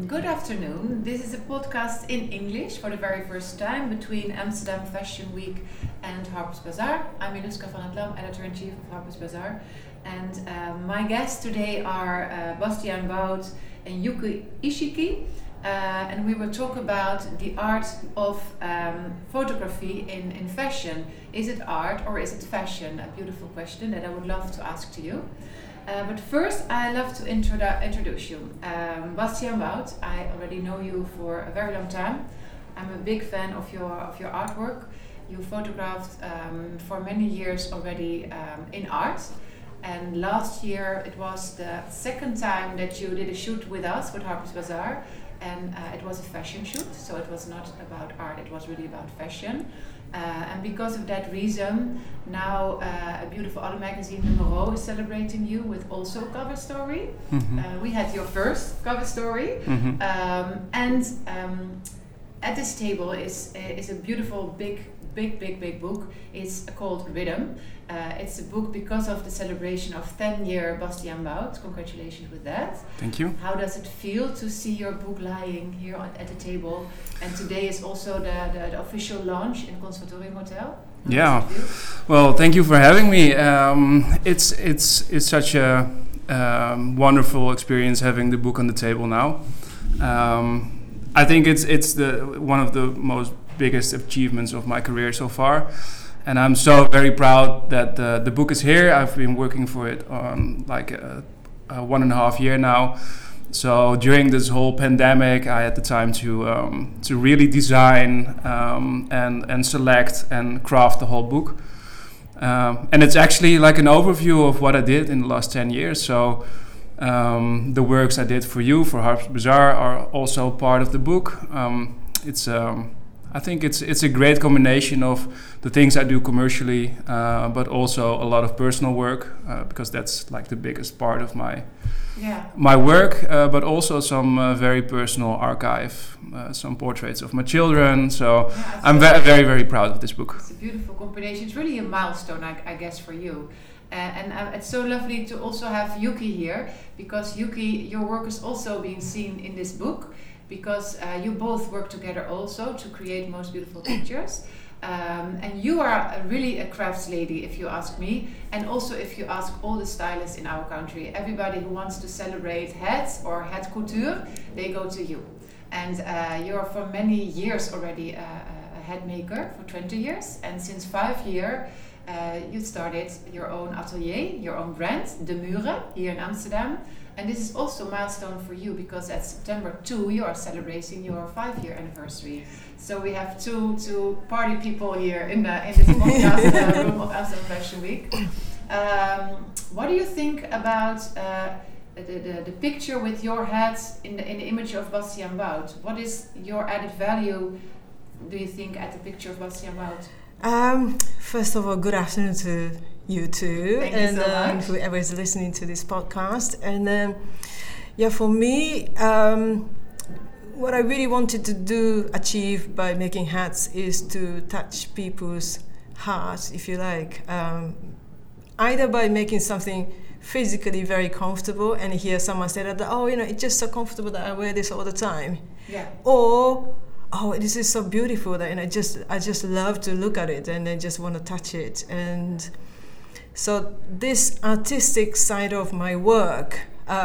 Good afternoon. This is a podcast in English for the very first time between Amsterdam Fashion Week and Harper's Bazaar. I'm Iluska van het Lam, Editor-in-Chief of Harper's Bazaar. And my guests today are Bastiaan Wout and Yuki Ishiki. And we will talk about the art of photography in fashion. Is it art or is it fashion? A beautiful question that I would love to ask to you. But first, I love to introduce you. Bastiaan Wout, I already know you for a very long time. I'm a big fan of your artwork. You photographed for many years already in art. And last year, it was the second time that you did a shoot with us, with Harper's Bazaar. And it was a fashion shoot, so it was not about art, it was really about fashion. And because of that reason, now a beautiful other magazine, Numero, is celebrating you with also cover story. Mm-hmm. We had your first cover story. Mm-hmm. At this table is a beautiful, big book. It's called Rhythm. It's a book because of the celebration of 10-year Bastiaan Wout. Congratulations with that. Thank you. How does it feel to see your book lying here at the table? And today is also the official launch in Conservatorium Hotel. Yeah. Well, thank you for having me. It's such a wonderful experience having the book on the table now. I think it's one of the most biggest achievements of my career so far. And I'm so very proud that the book is here. I've been working for it on like 1.5 years now. So during this whole pandemic, I had the time to really design and select and craft the whole book. And it's actually like an overview of what I did in the last 10 years. So the works I did for you, for Harper's Bazaar, are also part of the book. I think it's a great combination of the things I do commercially, but also a lot of personal work, because that's like the biggest part of my work, but also some very personal archive, some portraits of my children. So I'm very, very proud of this book. It's a beautiful combination. It's really a milestone, I guess, for you. And it's so lovely to also have Yuki here, because Yuki, your work is also being seen in this book. Because you both work together also to create most beautiful pictures. And you are really a crafts lady, if you ask me. And also if you ask all the stylists in our country, everybody who wants to celebrate hats or hat couture, they go to you. And you're for many years already a hat maker, for 20 years. And since 5 years, you started your own atelier, your own brand, De Mure, here in Amsterdam. And this is also a milestone for you, because at September 2 you are celebrating your 5-year anniversary. So we have two party people here in this podcast room of Amsterdam Fashion Week. What do you think about the picture with your hat in the image of Bastiaan Wout? What is your added value, do you think, at the picture of Bastiaan Wout? First of all, good afternoon to you too. Thank you so much. Whoever is listening to this podcast. And for me, what I really wanted to achieve by making hats is to touch people's hearts, if you like, either by making something physically very comfortable, and hear someone say that, it's just so comfortable that I wear this all the time. Yeah. Or, this is so beautiful that, and I just love to look at it, and I just want to touch it. And so this artistic side of my work,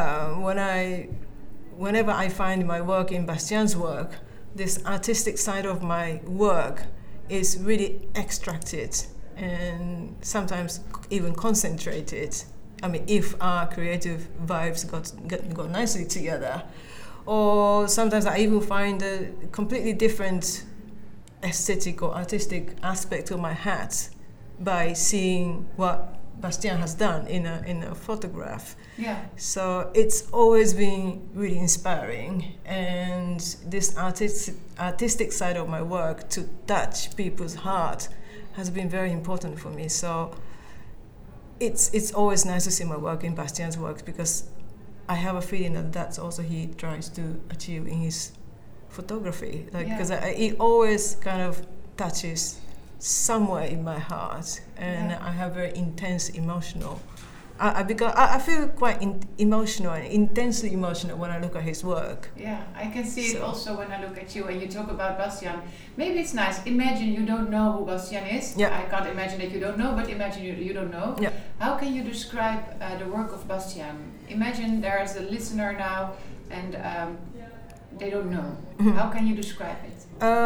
whenever I find my work in Bastiaan's work, this artistic side of my work is really extracted and sometimes even concentrated. I mean, if our creative vibes got nicely together. Or sometimes I even find a completely different aesthetic or artistic aspect of my hat by seeing what Bastiaan has done in a photograph. Yeah. So it's always been really inspiring, and this artistic side of my work, to touch people's heart, has been very important for me. So it's always nice to see my work in Bastiaan's works, because I have a feeling that that's also he tries to achieve in his photography. Because it always kind of touches somewhere in my heart, and I have very intense emotional I feel quite emotional and intensely emotional when I look at his work. Yeah, I can see it also when I look at you and you talk about Bastiaan. Maybe it's nice. Imagine you don't know who Bastiaan is. Yeah. I can't imagine that you don't know, but imagine you don't know. Yeah. How can you describe the work of Bastiaan? Imagine there's a listener now and they don't know. Mhm. How can you describe it?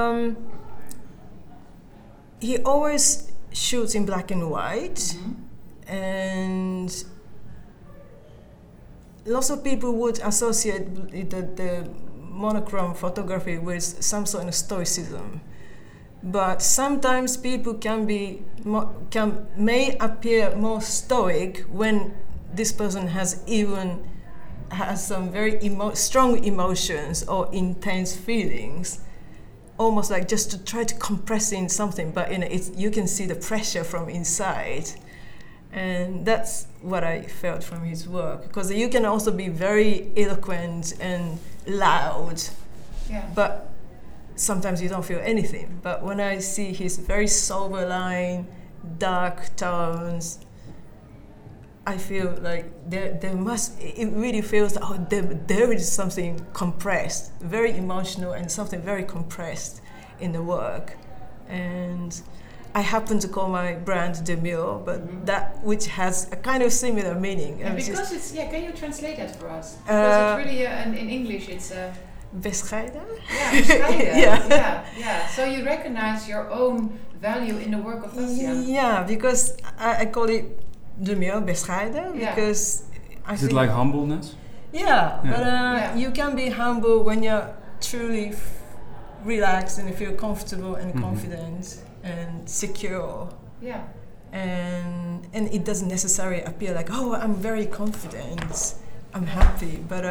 He always shoots in black and white. Mhm. And lots of people would associate the monochrome photography with some sort of stoicism, but sometimes people may appear more stoic when this person has some very strong emotions or intense feelings, almost like just to try to compress in something, but you can see the pressure from inside. And that's what I felt from his work, because you can also be very eloquent and loud, Yeah. but sometimes you don't feel anything. But when I see his very sober line, dark tones, I feel like it really feels like, there is something compressed, very emotional and something very compressed in the work. And I happen to call my brand Demure, but that which has a kind of similar meaning. And because it's can you translate that for us? Because it's really in English it's bescheiden. Yeah, bescheiden. Yeah. Yeah. So you recognize your own value in the work of Bastiaan. Yeah, because I call it Demure, bescheiden, because I Is think it like humbleness? Yeah, Yeah. but you can be humble when you're truly relaxed and you feel comfortable and confident and secure. Yeah. And it doesn't necessarily appear like, oh, I'm very confident, I'm happy, but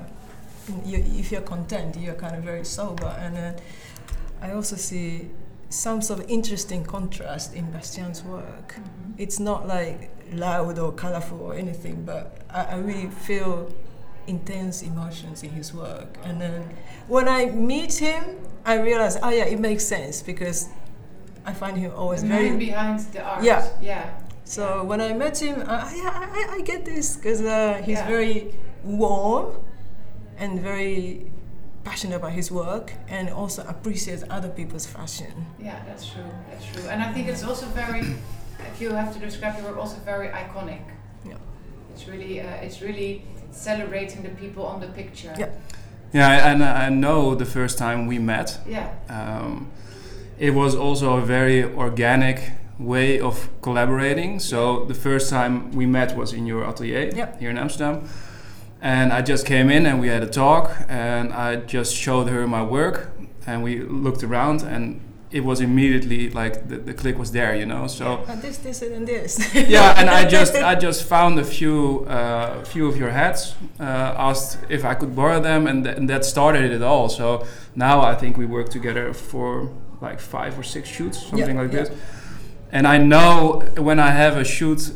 if you're content, you're kind of very sober. And I also see some sort of interesting contrast in Bastiaan's work. Mm-hmm. It's not like loud or colorful or anything, but I really feel intense emotions in his work. And then when I meet him, I realize, it makes sense, because I find him always the very... man behind the art. Yeah. Yeah. So when I met him, I get this, because he's Yeah. very warm and very passionate about his work, and also appreciates other people's fashion. Yeah, that's true. That's true. And I think it's also very, if you have to describe your work, also very iconic. Yeah. It's really celebrating the people on the picture. Yeah. Yeah, and I know the first time we met, Yeah. it was also a very organic way of collaborating. So the first time we met was in your atelier here in Amsterdam. And I just came in and we had a talk, and I just showed her my work, and we looked around, and it was immediately like the click was there, you know. So This, and this. yeah, and I just found a few of your hats, asked if I could borrow them, and that started it all. So now I think we work together for like 5 or 6 shoots, something like this. And I know when I have a shoot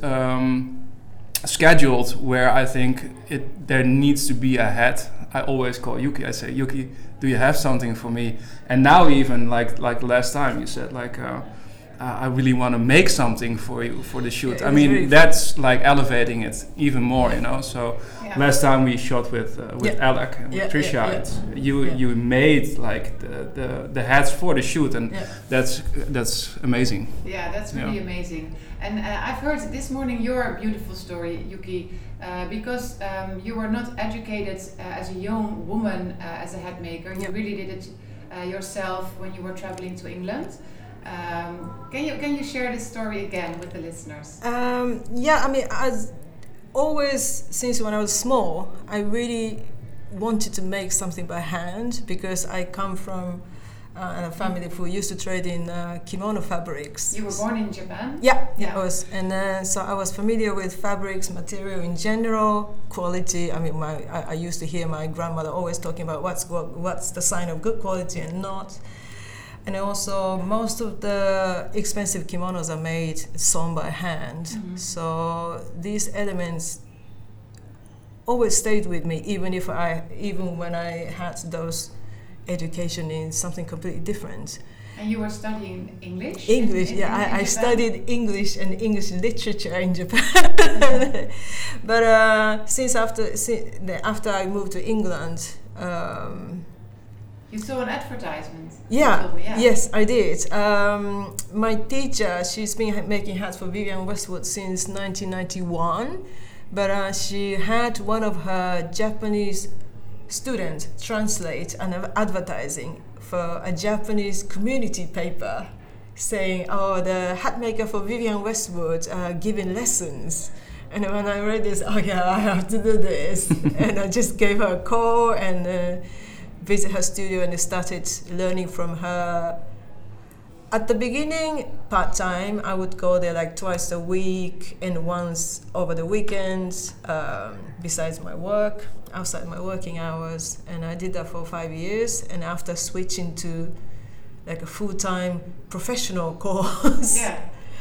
scheduled where I think there needs to be a hat, I always call Yuki. I say, Yuki, do you have something for me? And now even like last time you said like I really want to make something for you for the shoot. I mean really that's like elevating it even more, you know. So last time we shot with Alec and Tricia, you made like the hats for the shoot, and that's amazing. Yeah, that's really amazing. And I've heard this morning your beautiful story, Yuki, because you were not educated as a young woman as a hat maker. You really did it yourself when you were traveling to England. Can you share this story again with the listeners? I mean, as always, since when I was small, I really wanted to make something by hand, because I come from a family who used to trade in kimono fabrics. You were born in Japan? Yeah. I was, and so I was familiar with fabrics, material in general, quality. I mean, I used to hear my grandmother always talking about what's the sign of good quality and not. And also, most of the expensive kimonos are made sewn by hand. Mm-hmm. So these elements always stayed with me, even when I had those education in something completely different. And you were studying English? English, in I Japan? studied English and English literature in Japan. But since after I moved to England, You saw an advertisement. You yeah, told me, yeah. yes, I did. My teacher, she's been making hats for Vivienne Westwood since 1991, but she had one of her Japanese students translate an advertising for a Japanese community paper saying, oh, the hat maker for Vivienne Westwood giving lessons. And when I read this, oh yeah, I have to do this. And I just gave her a call and visit her studio and started learning from her. At the beginning, part-time, I would go there like twice a week and once over the weekends, besides my work, outside my working hours. And I did that for 5 years. And after switching to like a full-time professional course. Yeah.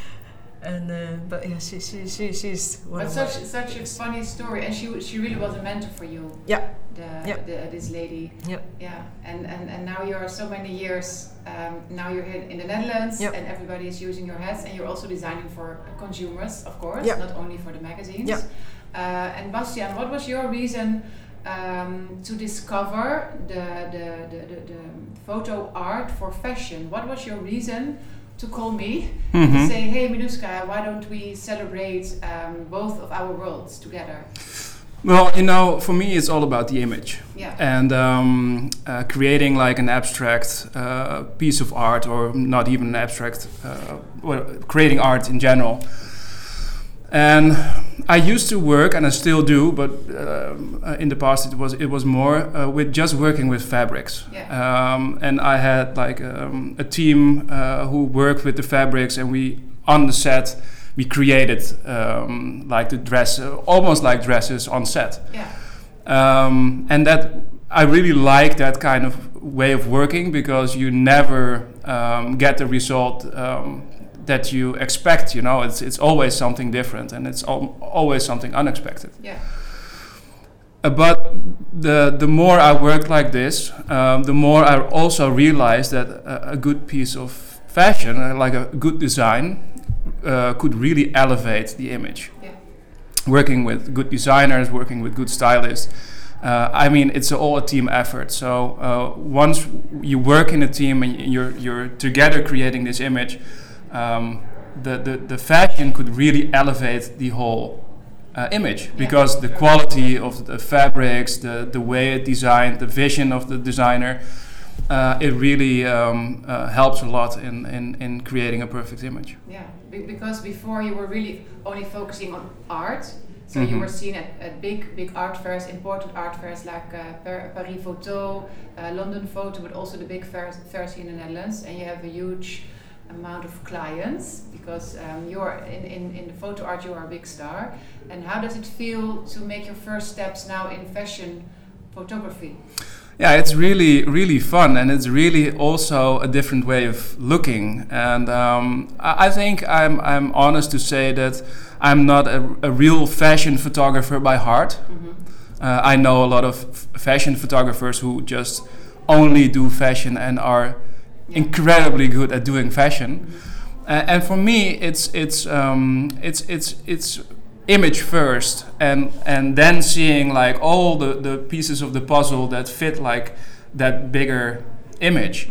And but yeah, she's one But of such a funny story, and she really was a mentor for you. Yeah. This lady. Yep. Yeah. And now you are so many years. Now you're here in the Netherlands, Yep. and everybody is using your hats, and you're also designing for consumers, of course, Yep. not only for the magazines. Yep. And Bastiaan, what was your reason to discover the photo art for fashion? What was your reason to call me to say, hey Miluska, why don't we celebrate both of our worlds together? Well, you know, for me it's all about the image. Yeah. And creating like an abstract piece of art, or not even an abstract, well, creating art in general. And I used to work, and I still do, but in the past it was more with just working with fabrics. Yeah. And I had like a team who worked with the fabrics, and we on the set we created like the dress, almost like dresses on set. Yeah. And that I really like that kind of way of working, because you never get the result that you expect. You know, it's always something different, and it's always something unexpected. Yeah. But the more I worked like this, the more I also realized that a good piece of fashion, like a good design, could really elevate the image. Yeah. Working with good designers, working with good stylists. I mean, it's all a team effort. So once you work in a team and you're together creating this image, the fashion could really elevate the whole image, because the quality of the fabrics, the way it's designed, the vision of the designer, it really helps a lot in creating a perfect image. Yeah, because before you were really only focusing on art, so you were seen at big art fairs, important art fairs like Paris Photo, London Photo, but also the big fairs here in the Netherlands, and you have a huge amount of clients, because you're in the photo art, you are a big star. And how does it feel to make your first steps now in fashion photography? Yeah, it's really fun, and it's really also a different way of looking. And I think I'm honest to say that I'm not a real fashion photographer by heart. I know a lot of fashion photographers who just only do fashion and are incredibly good at doing fashion. And for me, it's image first, and then seeing like all the pieces of the puzzle that fit like that bigger image.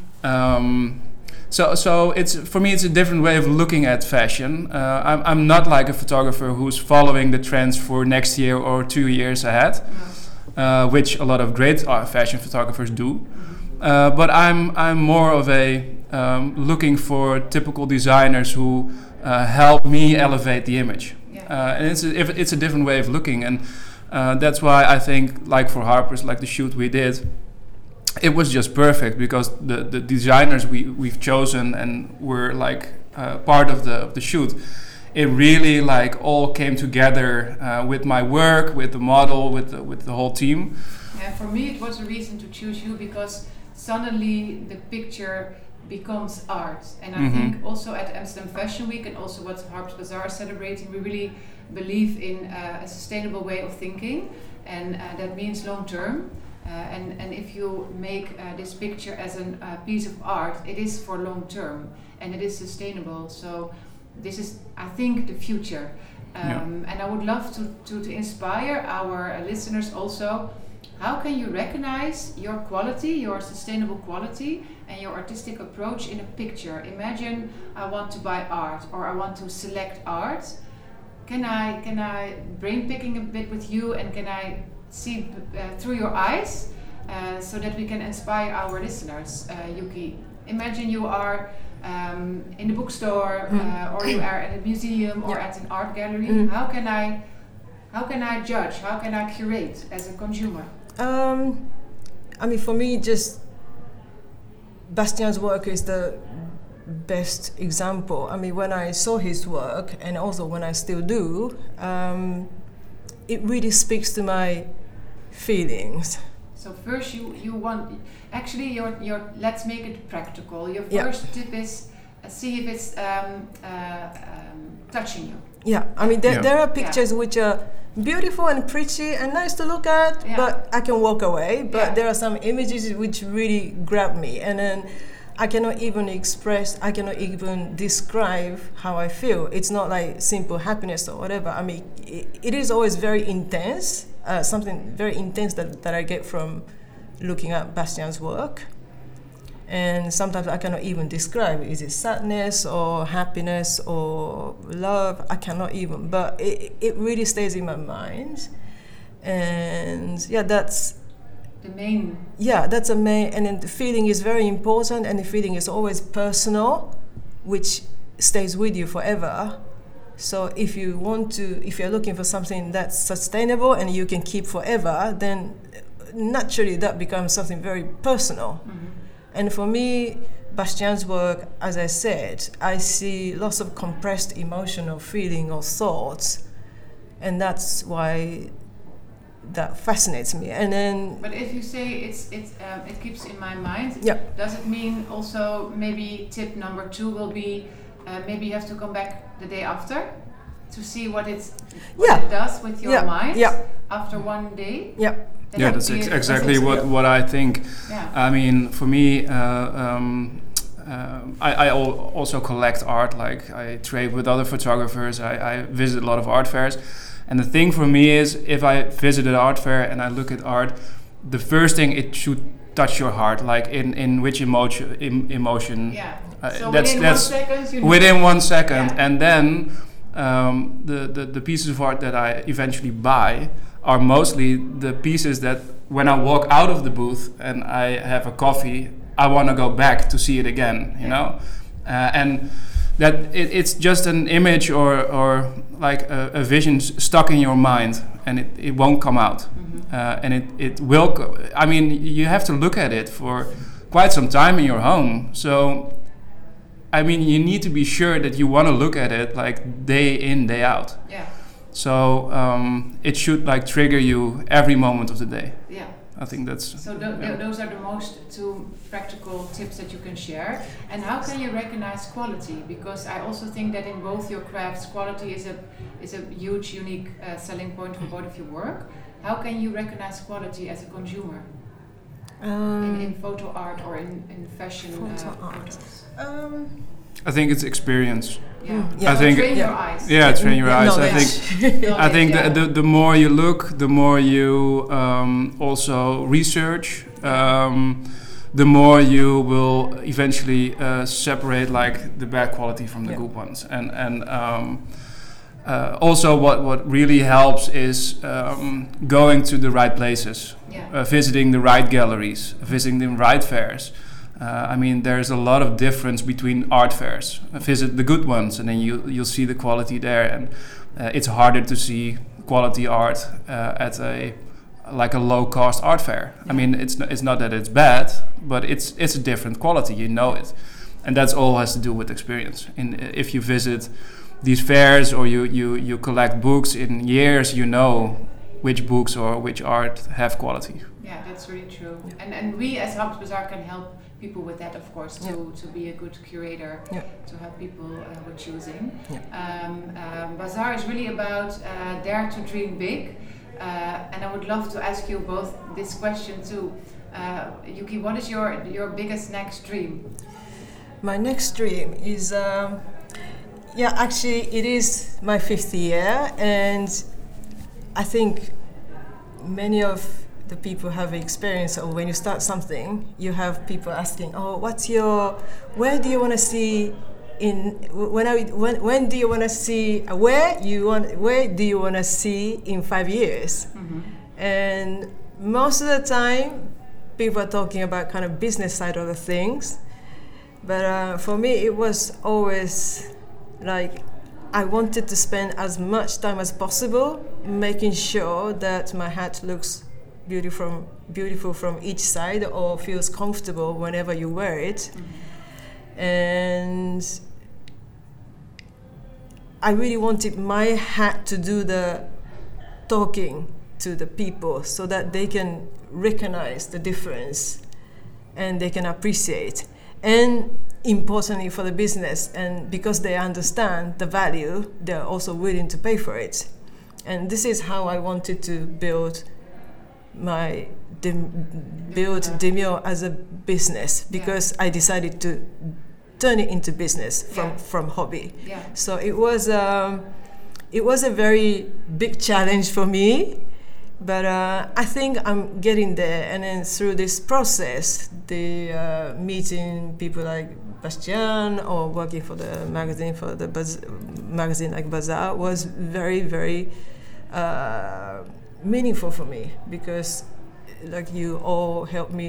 So it's, for me, it's a different way of looking at fashion. I'm not like a photographer who's following the trends for next year or 2 years ahead, which a lot of great fashion photographers do. But I'm more of a looking for typical designers who help me elevate the image. And it's a different way of looking, and that's why I think, like for Harper's, like the shoot we did, it was just perfect, because the designers we've chosen and were like part of the shoot, it really like all came together with my work, with the model, with the whole team. Yeah, for me it was a reason to choose you, because suddenly the picture becomes art. And I think also at Amsterdam Fashion Week, and also what Harper's Bazaar is celebrating, we really believe in a sustainable way of thinking, and that means long term. And if you make this picture as a piece of art, it is for long term and it is sustainable. So this is, I think, the future. And I would love to inspire our listeners also. How can you recognize your quality, your sustainable quality, and your artistic approach in a picture? Imagine I want to buy art or I want to select art. Can I brain picking a bit with you, and can I see through your eyes so that we can inspire our listeners? Yuki, imagine you are in the bookstore or you are at a museum or at an art gallery. How can I judge? How can I curate as a consumer? I mean, for me, just Bastian's work is the best example. I mean, when I saw his work, and also when I still do, it really speaks to my feelings. So first you want, actually your let's make it practical. Your first tip is see if it's touching you. Yeah, I mean there are pictures which are beautiful and pretty and nice to look at, but I can walk away. But there are some images which really grab me, and then I cannot even describe how I feel. It's not like simple happiness or whatever. I mean, it is always very intense, something very intense that I get from looking at Bastian's work. And sometimes I cannot even describe, is it sadness or happiness or love? I cannot even, but it really stays in my mind. And that's the main. Yeah, that's a main, and then the feeling is very important, and the feeling is always personal, which stays with you forever. So if you're looking for something that's sustainable and you can keep forever, then naturally that becomes something very personal. Mm-hmm. And for me, Bastian's work, as I said, I see lots of compressed emotional feeling or thoughts, and that's why that fascinates me. And then, but if you say it keeps in my mind, does it mean also maybe tip number 2 will be maybe you have to come back the day after to see what it does with your mind after one day? Yeah. Yeah, that's exactly what I think. Yeah. I mean, for me, I also collect art. Like, I trade with other photographers. I visit a lot of art fairs. And the thing for me is, if I visit an art fair and I look at art, the first thing, it should touch your heart. Like, in which emotion. Yeah. So within 1 second. Within 1 second. Yeah. And then the pieces of art that I eventually buy are mostly the pieces that when I walk out of the booth and I have a coffee, I want to go back to see it again, you know? And that it's just an image or like a vision stuck in your mind, and it won't come out. Mm-hmm. And it will, I mean, you have to look at it for quite some time in your home. So, I mean, you need to be sure that you want to look at it like day in, day out. Yeah. So it should like trigger you every moment of the day. Yeah, I think that's. So those are the most 2 practical tips that you can share. And how can you recognize quality? Because I also think that in both your crafts, quality is a huge, unique selling point for both of your work. How can you recognize quality as a consumer in photo art or in fashion art? I think it's experience. Yeah. I think train your eyes. Yeah, train your eyes. I think the more you look, the more you also research, the more you will eventually separate like the bad quality from the good ones. And also what really helps is going to the right places, visiting the right galleries, visiting the right fairs. I mean, there's a lot of difference between art fairs. Visit the good ones, and then you'll see the quality there. And it's harder to see quality art at a low-cost art fair. I mean, it's not that it's bad, but it's a different quality. You know it, and that's all has to do with experience. And if you visit these fairs or you collect books in years, you know which books or which art have quality. Yeah, that's really true. And we as Harpers can help people with that, of course, to be a good curator, to help people with choosing. Bazaar is really about dare to dream big. And I would love to ask you both this question too. Yuki, what is your biggest next dream? My next dream is, actually it is my 5th year, and I think many of the people have experience of when you start something, you have people asking, oh, where do you want to see when do you want to see, where do you want to see in 5 years? Mm-hmm. And most of the time, people are talking about kind of business side of the things. But for me, it was always like I wanted to spend as much time as possible making sure that my hat looks beautiful from each side or feels comfortable whenever you wear it. Mm-hmm. And I really wanted my hat to do the talking to the people so that they can recognize the difference and they can appreciate. And importantly for the business, and because they understand the value, they're also willing to pay for it. And this is how I wanted to build Demure as a business, because I decided to turn it into business from hobby. Yeah. So it was a very big challenge for me. But I think I'm getting there, and then through this process, meeting people like Bastiaan or working for the magazine, magazine like Bazaar, was very, very meaningful for me, because like you all helped me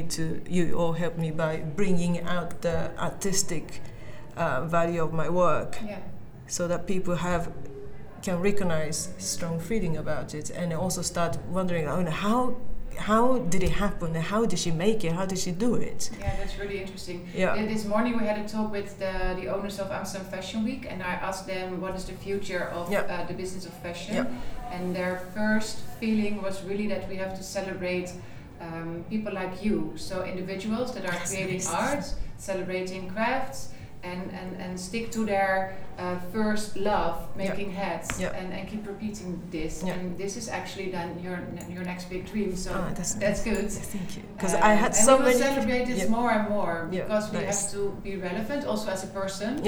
by bringing out the artistic value of my work, so that people can recognize strong feeling about it, and also start wondering, how did it happen? How did she make it? How did she do it? Yeah, that's really interesting. Yeah. This morning we had a talk with the owners of Amsterdam Fashion Week, and I asked them what is the future of the business of fashion, and their first feeling was really that we have to celebrate people like you, so individuals that are creating art, celebrating crafts, and stick to their first love, making hats, and keep repeating this. And this is actually then your next big dream. So that's good. Thank you. Because I had so many. We will celebrate this more and more, because we have to be relevant also as a person.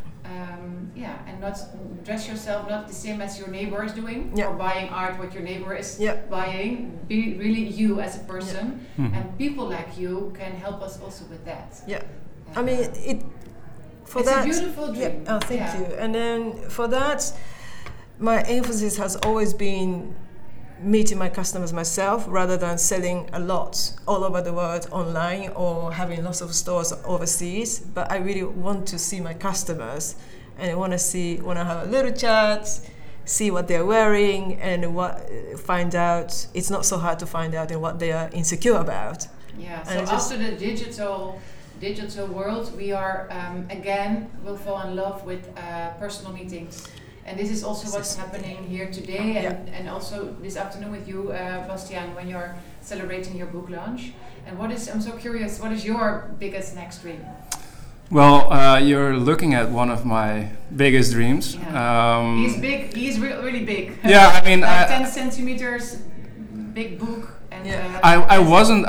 And not dress yourself not the same as your neighbor is doing, or buying art what your neighbor is buying. Be really you as a person, and people like you can help us also with that. I mean it's a beautiful dream. Thank you. And then for that, my emphasis has always been meeting my customers myself, rather than selling a lot all over the world online or having lots of stores overseas. But I really want to see my customers, and I want to have a little chat, see what they're wearing, and find out. It's not so hard to find out in what they are insecure about. Yeah. So after the digital world, we are will fall in love with personal meetings, and this is also what's happening here today, and also this afternoon with you, Bastiaan, when you're celebrating your book launch. And I'm so curious, what is your biggest next dream? Well, you're looking at one of my biggest dreams. He's big. He's really big. Yeah, I mean, 10 centimeters, big book. I wasn't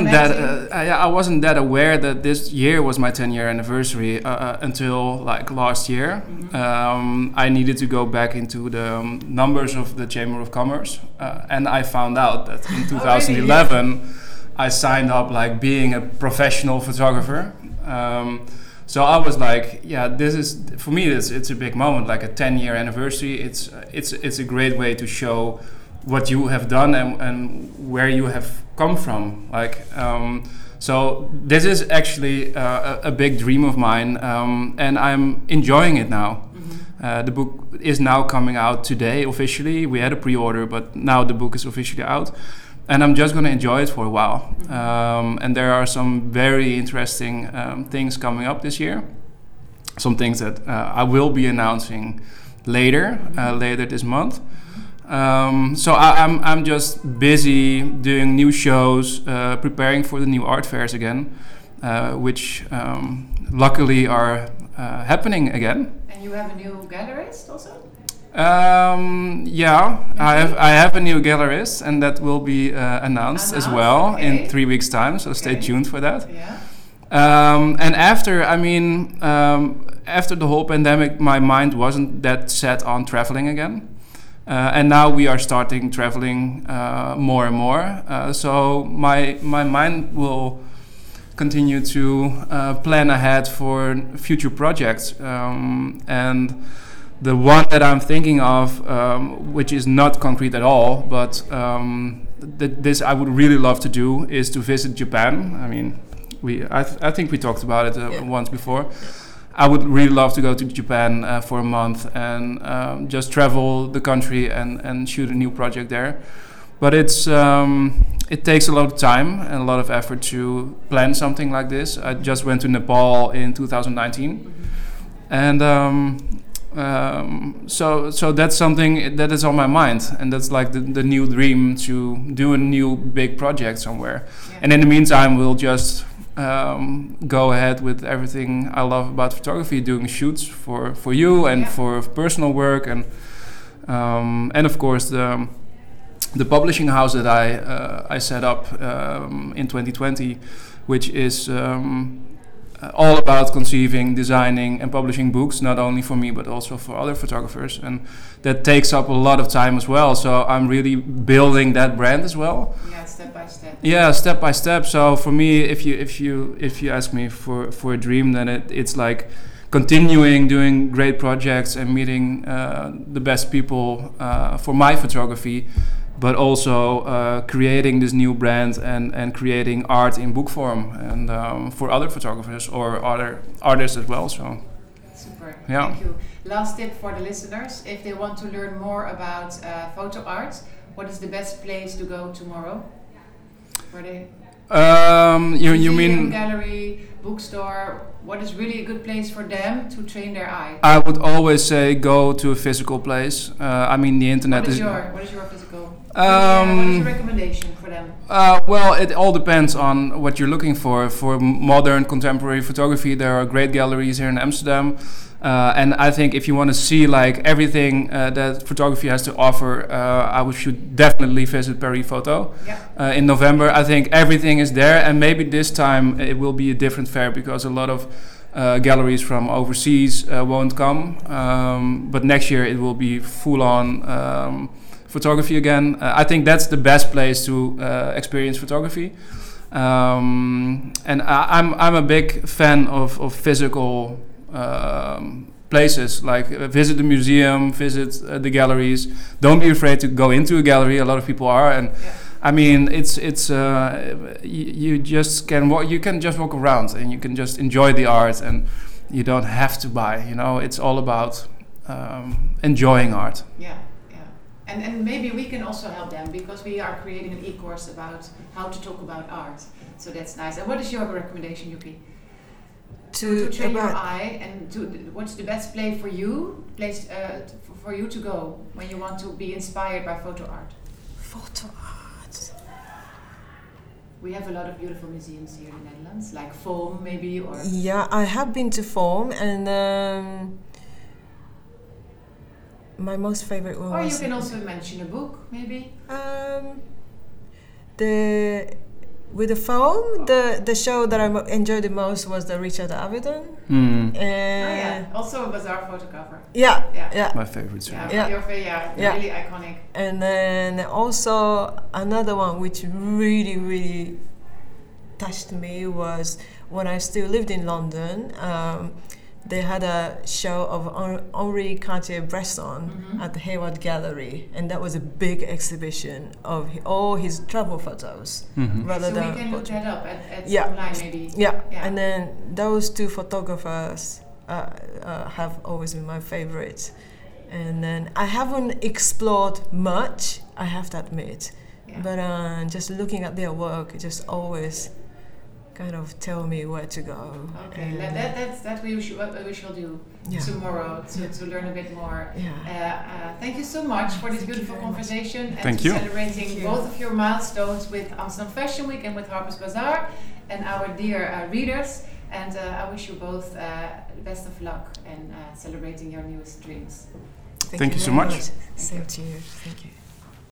that aware that this year was my 10-year anniversary until like last year. Mm-hmm. I needed to go back into the numbers of the Chamber of Commerce, and I found out that in 2011 I signed up like being a professional photographer. So I was like, this is for me. It's a big moment, like a 10-year anniversary. It's a great way to show what you have done and where you have come from. So this is actually a big dream of mine, and I'm enjoying it now. Mm-hmm. The book is now coming out today officially. We had a pre-order, but now the book is officially out, and I'm just going to enjoy it for a while. Mm-hmm. And there are some very interesting things coming up this year. Some things that I will be announcing later this month. So I'm just busy doing new shows, preparing for the new art fairs again, which luckily are happening again. And you have a new gallerist also? I have a new gallerist, and that will be announced as well in 3 weeks' time. So stay tuned for that. Yeah. And after the whole pandemic, my mind wasn't that set on traveling again. And now we are starting traveling more and more. So my mind will continue to plan ahead for future projects. And the one that I'm thinking of, which is not concrete at all, but this I would really love to do, is to visit Japan. I mean, I think we talked about it once before. I would really love to go to Japan for a month and just travel the country and shoot a new project there. But it takes a lot of time and a lot of effort to plan something like this. I just went to Nepal in 2019, and so that's something that is on my mind, and that's like the new dream, to do a new big project somewhere. Yeah. And in the meantime, we'll just go ahead with everything I love about photography, doing shoots for you and for personal work, and of course the publishing house that I set up in 2020, which is all about conceiving, designing, and publishing books, not only for me but also for other photographers, and that takes up a lot of time as well. So I'm really building that brand as well. Yeah, step by step. Yeah, step by step. So for me, if you ask me for a dream, then it's like continuing doing great projects and meeting the best people for my photography, but also creating this new brand and creating art in book form, and for other photographers or other artists as well. So super. Yeah. Thank you. Last tip for the listeners: if they want to learn more about photo art, what is the best place to go tomorrow? Where they? You mean gallery, bookstore? What is really a good place for them to train their eye? I would always say go to a physical place. I mean, the internet What is your physical? What is your recommendation for them? Well, it all depends on what you're looking for. For modern contemporary photography, there are great galleries here in Amsterdam. And I think if you want to see like everything that photography has to offer, I should definitely visit Paris Photo in November. I think everything is there, and maybe this time it will be a different fair because a lot of galleries from overseas won't come. But next year it will be full-on photography again. I think that's the best place to experience photography. And I'm a big fan of physical places, like visit the museum, visit the galleries. Don't be afraid to go into a gallery. A lot of people are, and I mean, it's you just can walk. You can just walk around and you can just enjoy the art, and you don't have to buy. You know, it's all about enjoying art. Yeah. And maybe we can also help them, because we are creating an e-course about how to talk about art. So that's nice. And what is your recommendation, Yuki? To train your eye, and what's the best place for you to go when you want to be inspired by photo art? Photo art. We have a lot of beautiful museums here in the Netherlands, like Foam maybe, or... Yeah, I have been to Foam, and my most favorite one or was... you can also mention a book, maybe? With the Foam, the show that I enjoyed the most was the Richard Avedon. Also a Bazaar photo cover. Yeah. My favorite show. Really iconic. And then also another one which really, really touched me was when I still lived in London. They had a show of Henri Cartier-Bresson at the Hayward Gallery, and that was a big exhibition of all his travel photos. So we can look that up at online maybe. Yeah, and then those two photographers have always been my favorites. And then I haven't explored much, I have to admit, but just looking at their work, it just always kind of tell me where to go. Okay, that's what we shall do tomorrow to learn a bit more. Thank you so much for this beautiful conversation and celebrating both of your milestones with Amsterdam Fashion Week and with Harper's Bazaar and our dear readers. And I wish you both the best of luck in celebrating your newest dreams. Thank you so very much. Same to you. Thank you.